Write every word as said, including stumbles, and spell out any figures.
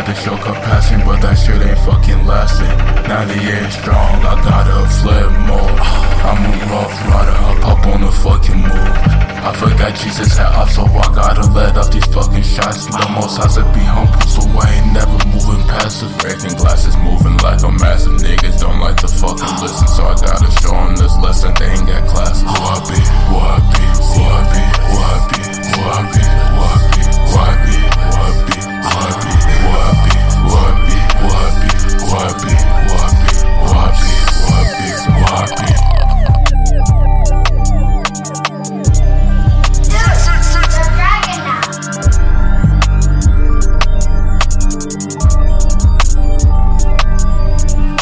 tried to show compassion, but that shit ain't fucking lasting. ninety-eight strong, I got a flip mode. I'm a rough rider, I pop on the fucking move. I forgot Jesus had off, so I gotta let off these fucking shots. The most has to be humble, so I ain't never moving passive. Breaking glasses, moving like a massive. Niggas don't like to fuck